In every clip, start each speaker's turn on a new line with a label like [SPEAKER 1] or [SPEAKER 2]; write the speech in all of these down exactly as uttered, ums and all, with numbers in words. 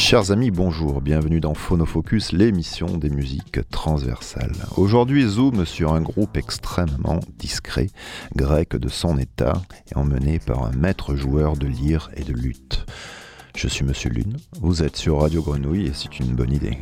[SPEAKER 1] Chers amis, bonjour, bienvenue dans Phonofocus, l'émission des musiques transversales. Aujourd'hui, zoom sur un groupe extrêmement discret, grec de son état, et emmené par un maître joueur de lyre et de luth. Je suis Monsieur Lune, vous êtes sur Radio Grenouille et c'est une bonne idée.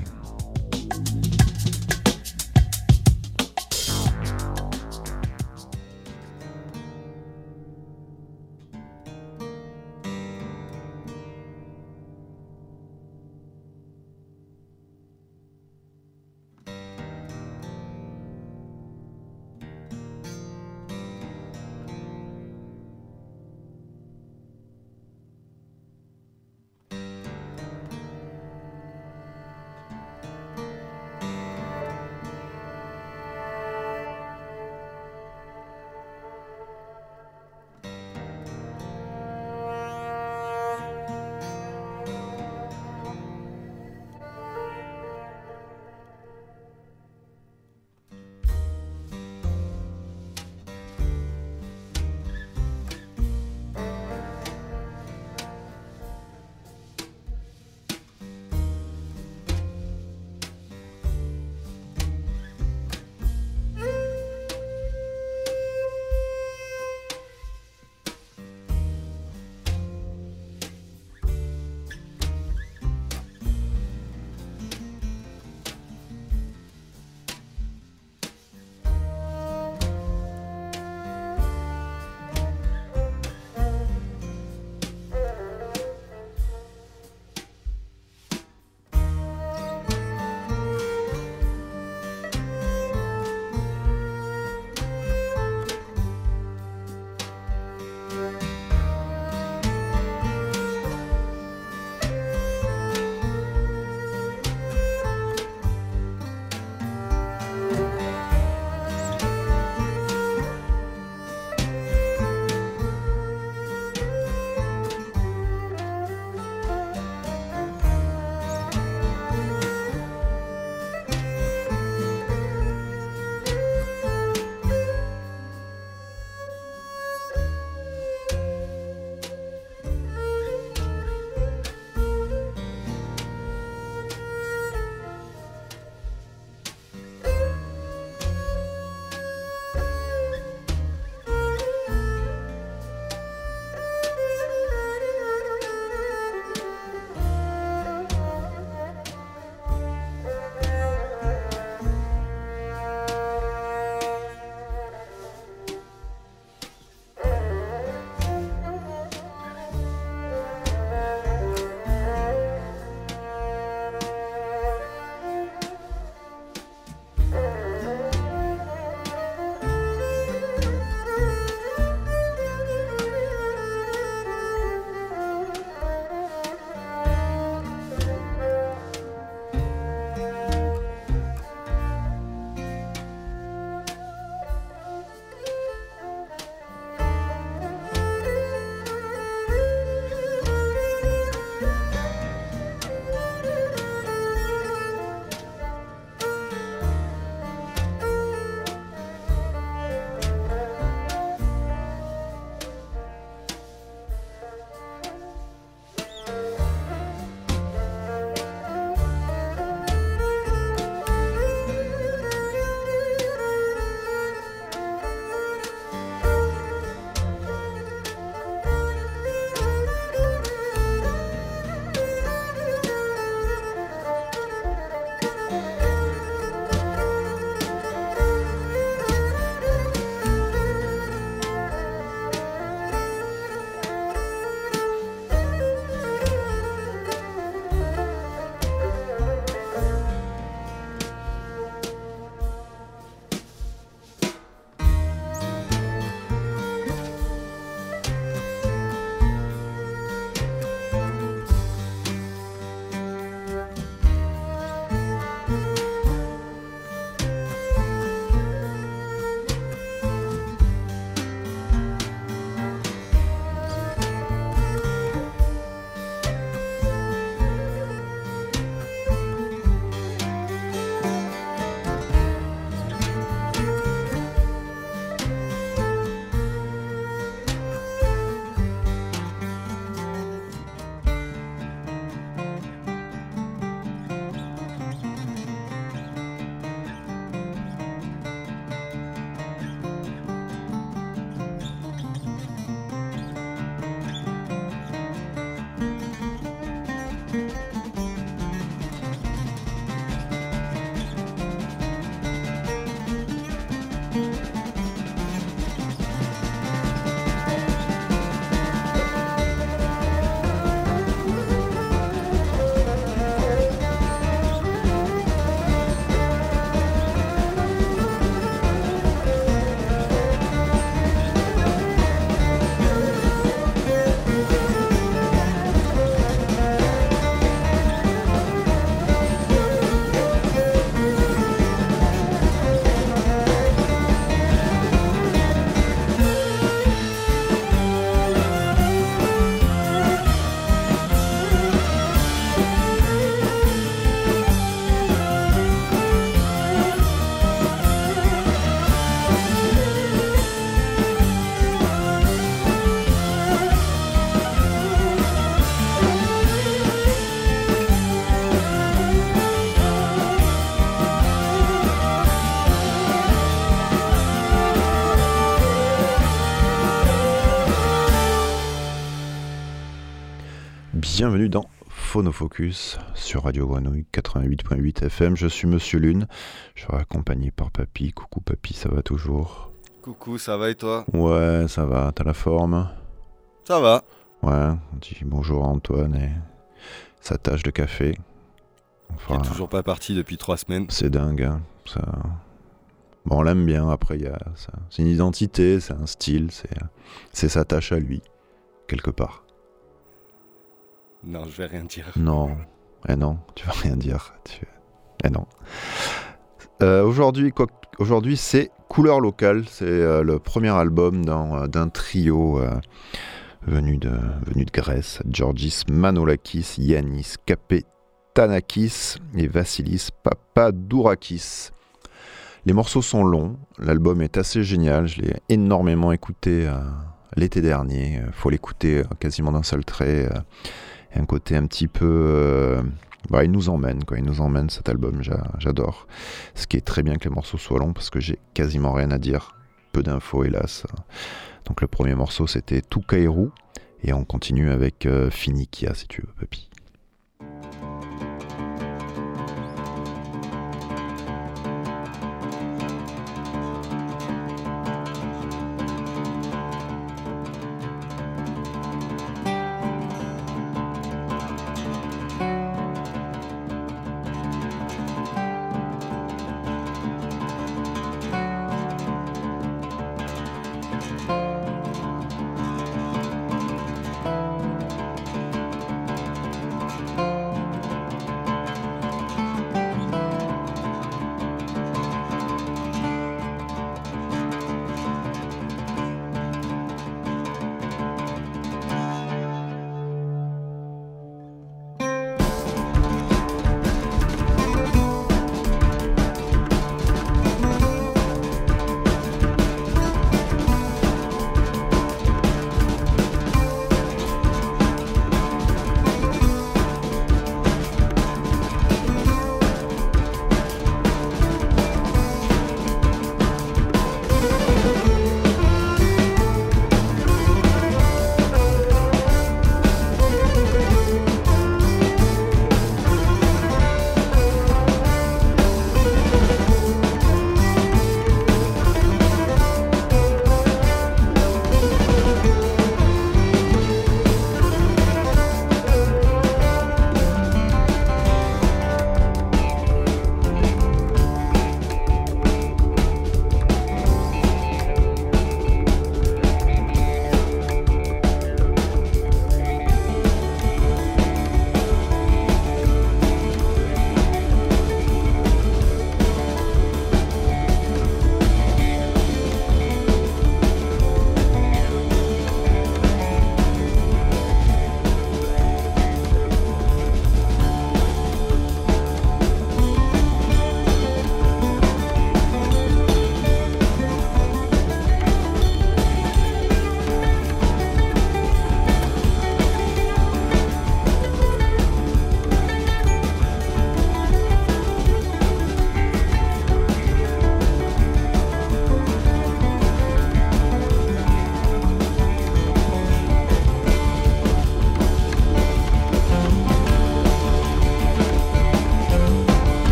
[SPEAKER 1] Bienvenue dans Phonofocus sur Radio Grenouille quatre-vingt-huit virgule huit F M. Je suis Monsieur Lune, je suis accompagné par Papy. Coucou Papy, ça va toujours?
[SPEAKER 2] Coucou, ça va et toi?
[SPEAKER 1] Ouais, ça va, t'as la forme?
[SPEAKER 2] Ça va.
[SPEAKER 1] Ouais, on dit bonjour à Antoine et sa tasse de café.
[SPEAKER 2] Enfin, qui est toujours pas parti depuis trois semaines.
[SPEAKER 1] C'est dingue, hein, ça... Bon, on l'aime bien, après, y a ça. C'est une identité, c'est un style, c'est, c'est sa tâche à lui, quelque part.
[SPEAKER 2] Non, je vais rien dire.
[SPEAKER 1] Non, eh non, tu vas rien dire. Tu... Eh non. Euh, aujourd'hui, quoi... aujourd'hui, c'est Couleur Locale, c'est euh, le premier album d'un, euh, d'un trio euh, venu, de, venu de Grèce, Georgis Manolakis, Yannis Kapetanakis et Vassilis Papadourakis. Les morceaux sont longs, l'album est assez génial, je l'ai énormément écouté euh, l'été dernier, il faut l'écouter euh, quasiment d'un seul trait, euh, et un côté un petit peu... Euh, bah, il nous emmène, quoi. Il nous emmène cet album, j'a, j'adore. Ce qui est très bien que les morceaux soient longs parce que j'ai quasiment rien à dire, peu d'infos hélas. Donc le premier morceau c'était Tout Kairou, et on continue avec euh, Finikia si tu veux, papy.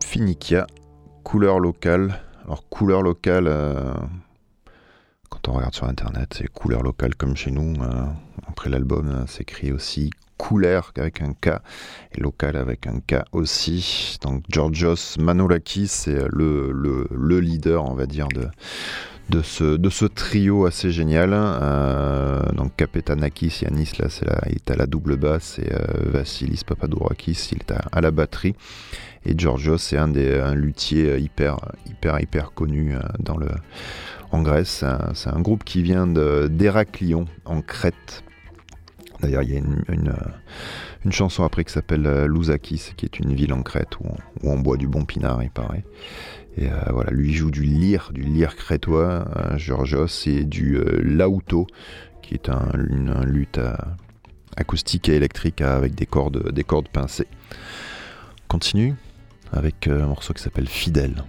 [SPEAKER 1] Finikia, couleur locale. Alors couleur locale, euh, quand on regarde sur internet, c'est couleur locale comme chez nous. Euh, après l'album, euh, c'est écrit aussi couleur avec un K et local avec un K aussi. Donc Georgios Manolakis, c'est le, le, le leader, on va dire, de, de, ce, de ce trio assez génial. Euh, donc Kapetanakis, Yanis, là, c'est là, il est à la double basse, et euh, Vassilis Papadourakis, il est à, à la batterie. Et Georgios, c'est un des un luthier hyper, hyper, hyper connu dans le, en Grèce. C'est un, c'est un groupe qui vient de, d'Héraklion, en Crète. D'ailleurs, il y a une, une, une chanson après qui s'appelle Lousakis, qui est une ville en Crète où on, où on boit du bon pinard, il paraît. Et euh, voilà, lui il joue du lyre, du lyre crétois, euh, Georgios, et du euh, laouto, qui est un, une, un luth euh, acoustique et électrique avec des cordes, des cordes pincées. On continue avec euh, un morceau qui s'appelle Fidèle.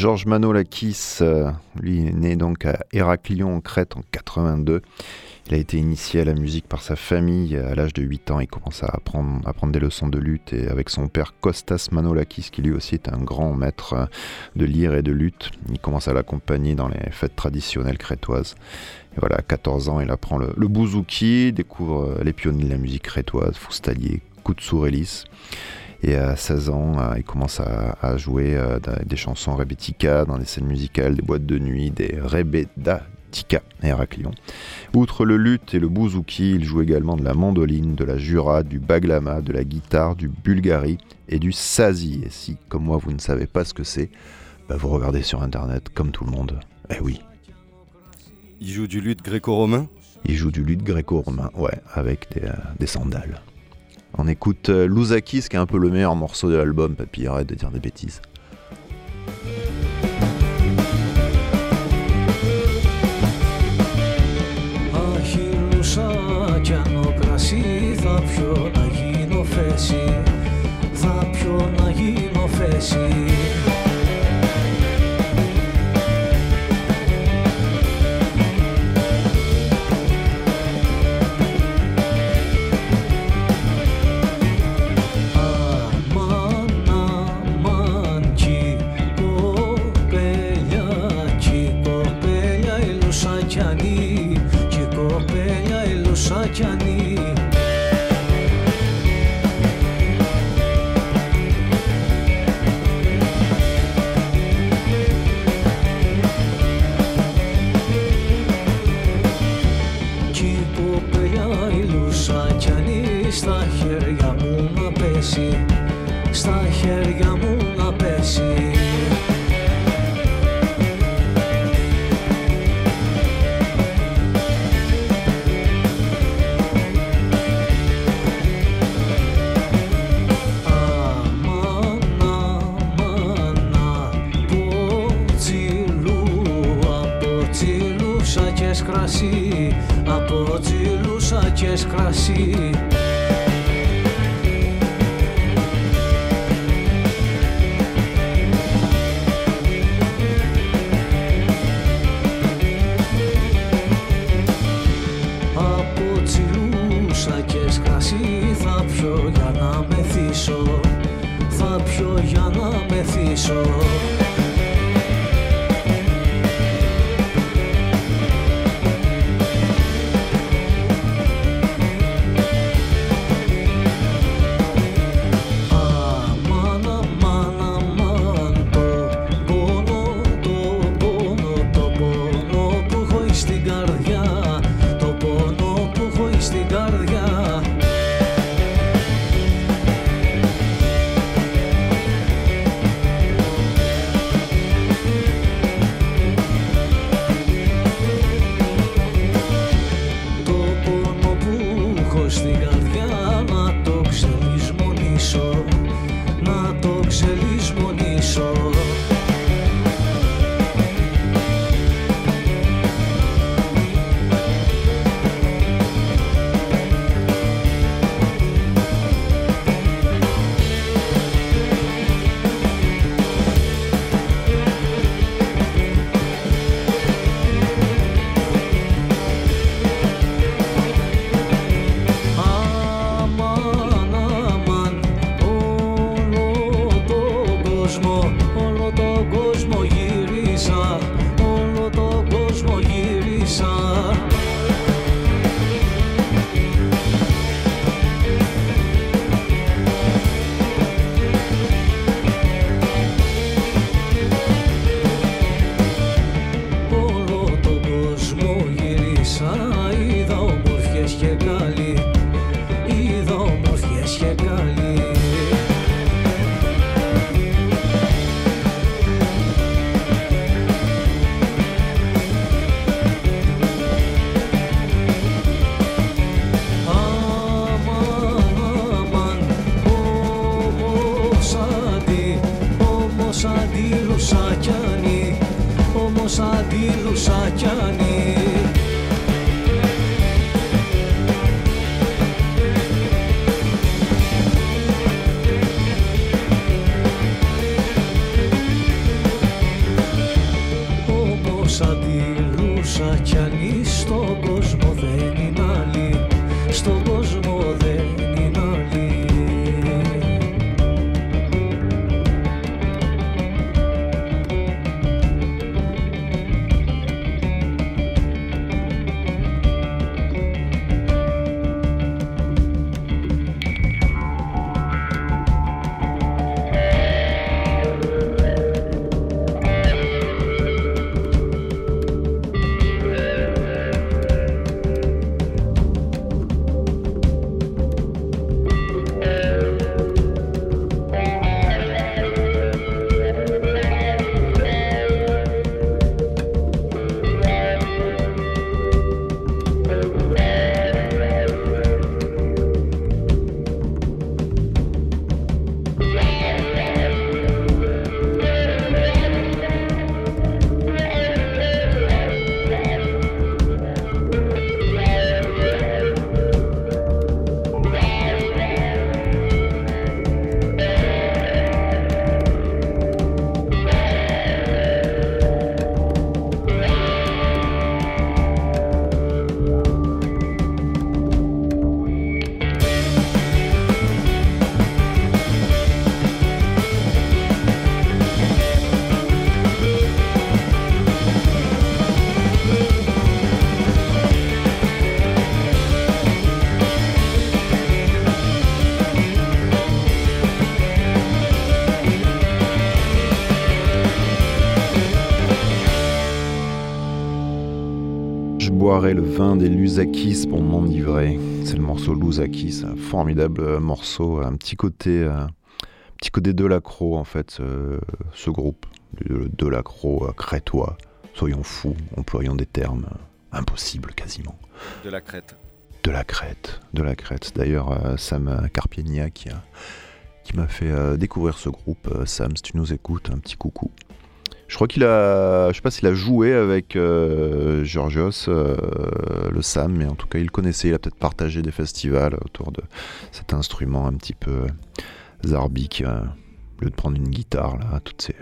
[SPEAKER 1] Georges Manolakis, euh, lui est né donc à Héraclion en Crète en quatre-vingt-deux. Il a été initié à la musique par sa famille. À l'âge de huit ans, il commence à apprendre, à prendre des leçons de lutte et avec son père Kostas Manolakis, qui lui aussi est un grand maître de lyre et de lutte. Il commence à l'accompagner dans les fêtes traditionnelles crétoises. Et voilà, à quatorze ans, il apprend le, le bouzouki, découvre les pionniers de la musique crétoise, Foustalier, Koutsourellis. Et à seize ans, il commence à, à jouer des chansons rebettika dans des scènes musicales, des boîtes de nuit, des rebeda. Tika et Héraclion. Outre le luth et le bouzouki, il joue également de la mandoline, de la jura, du baglama, de la guitare, du bulgari et du sazi. Et si, comme moi, vous ne savez pas ce que c'est, bah vous regardez sur internet, comme tout le monde. Eh oui.
[SPEAKER 2] Il joue du luth gréco-romain ?
[SPEAKER 1] Il joue du luth gréco-romain, ouais, avec des, euh, des sandales. On écoute euh, Louzakis, qui est un peu le meilleur morceau de l'album, papy, arrête de dire des bêtises.
[SPEAKER 3] Κι αν ο κρασί θα πιω να γίνω φέση, θα πιω να γίνω φέση. Αμάν, αμάν, κι κοπέλια, κι κοπέλια η Λουσακιανή, κι κοπέλια η Λουσακιανή. Κι κοπέλια η Λουσακιανή, στα χέρια μου να πέσει, στα χέρια μου να πέσει. Κρασί, από τσιλούσακες κρασί. Από τσιλούσακες κρασί θα πιω για να μεθύσω, θα πιω για να μεθύσω. αντιλούσα κι αν στον κόσμο δεν είναι άλλη, στον κόσμο δεν είναι άλλη.
[SPEAKER 1] boirai le vin des Lusakis pour m'enivrer. C'est le morceau Lusakis, un formidable morceau, un petit côté, un petit côté Delacroix en fait, ce, ce groupe, le Delacroix crétois. Soyons fous, employons des termes impossibles quasiment.
[SPEAKER 2] De la Crète.
[SPEAKER 1] De la Crète, de la Crète. D'ailleurs, euh, Sam Carpienia qui, a, qui m'a fait euh, découvrir ce groupe. Euh, Sam, si tu nous écoutes, un petit coucou. Je crois qu'il a, je sais pas s'il a joué avec euh, Georgios, euh, le Sam, mais en tout cas il le connaissait, il a peut-être partagé des festivals autour de cet instrument un petit peu zarbique, euh, au lieu de prendre une guitare, là, toutes ces...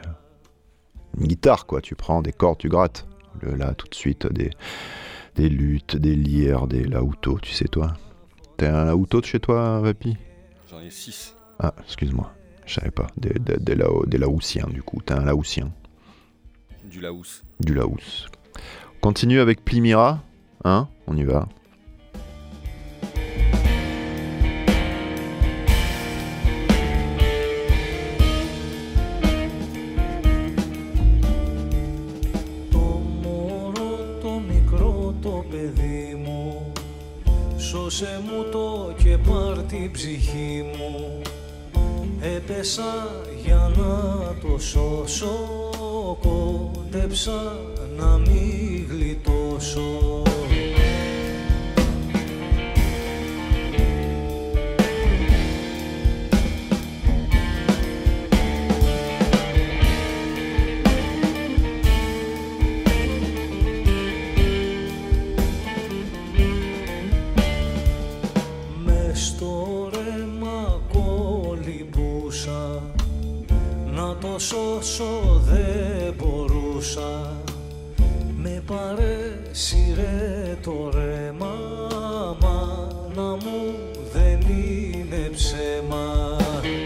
[SPEAKER 1] Une guitare, quoi, tu prends des cordes, tu grattes. Le, là, tout de suite, des, des luttes, des lyres, des laoutos, tu sais, toi. T'as un laouto de chez toi, Vapi ?
[SPEAKER 2] J'en ai six.
[SPEAKER 1] Ah, excuse-moi, je savais pas. Des, des, des, lao, des laoussiens, du coup. T'as un laoussien.
[SPEAKER 2] Du laous.
[SPEAKER 1] Du laous. On continue avec Plymira, hein ? On y va.
[SPEAKER 3] Σώσε μου το και πάρ' την ψυχή μου. Έπεσα για να το σώσω, κόντεψα να μην γλιτώσω. Σώσω δεν μπορούσα. Με παρέσυρε το ρέμα, μάνα μου δεν είναι ψέμα.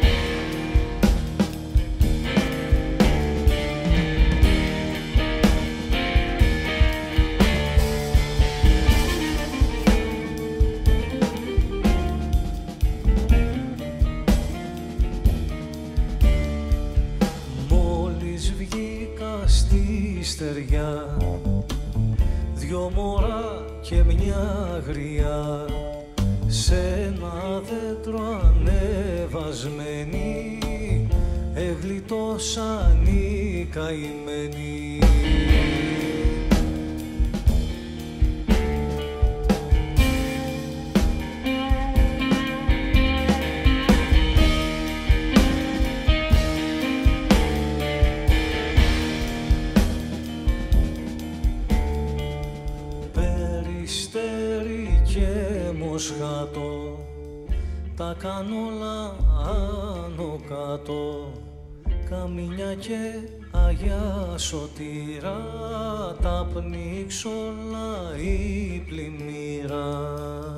[SPEAKER 3] Στεριά, δυο μωρά και μια γριά, σε ένα δέντρο ανεβασμένοι, εγλιτώσαν οι καημένοι. Μοσχάτο, τα κάνω όλα άνω κάτω, καμίνια και Αγιά σωτήρα, τα πνίξ όλα η πλημμύρα.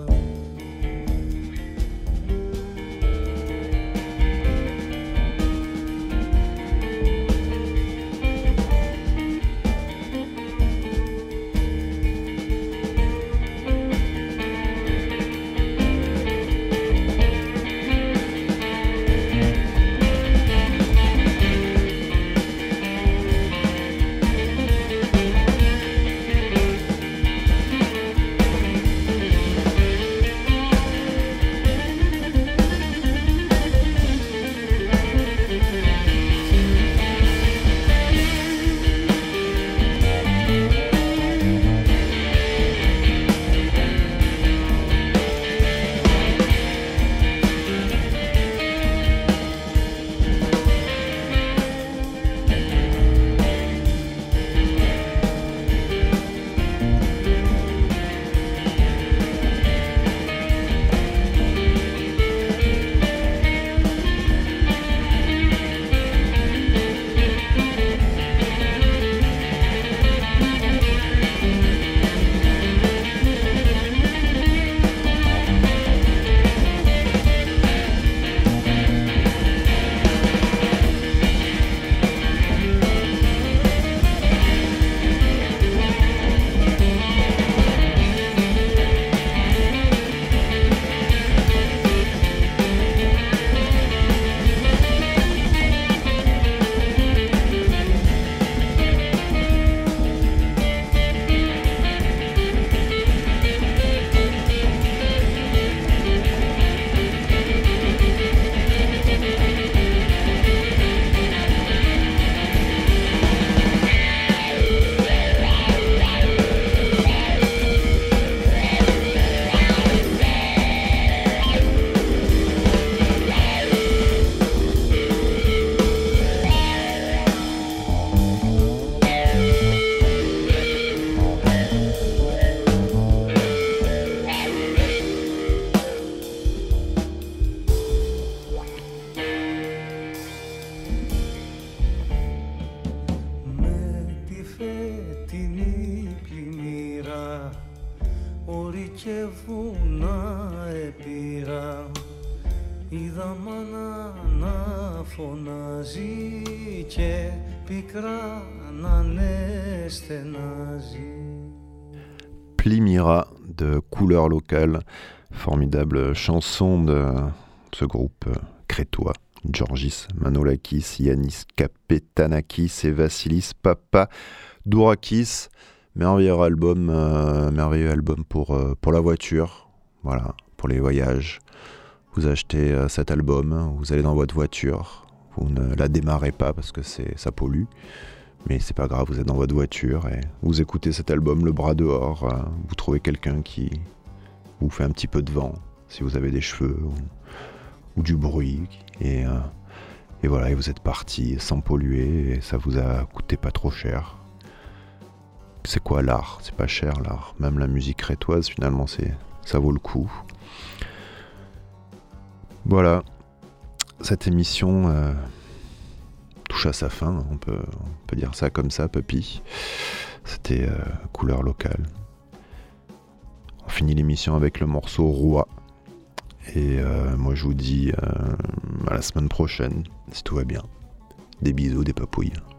[SPEAKER 3] και βουνά επήρα, είδα μάνα να φωνάζει και πικρά να στενάζει.
[SPEAKER 1] Plymira de Couleur Locale, formidable chanson de ce groupe crétois. Georgis Manolakis, Yannis Kapetanakis et Vassilis Papadourakis. Merveilleux album, euh, merveilleux album pour, euh, pour la voiture, voilà, pour les voyages. Vous achetez euh, cet album, vous allez dans votre voiture, vous ne la démarrez pas parce que c'est, ça pollue, mais c'est pas grave, vous êtes dans votre voiture et vous écoutez cet album le bras dehors, euh, vous trouvez quelqu'un qui vous fait un petit peu de vent, si vous avez des cheveux ou, ou du bruit, et, euh, et voilà, et vous êtes parti sans polluer et ça vous a coûté pas trop cher. C'est quoi l'art? C'est pas cher l'art. Même la musique crétoise, finalement, c'est, ça vaut le coup. Voilà. Cette émission euh, touche à sa fin. On peut, on peut dire ça comme ça, Puppy. C'était euh, Couleur Locale. On finit l'émission avec le morceau Roi. Et euh, moi, je vous dis euh, à la semaine prochaine, si tout va bien. Des bisous, des papouilles.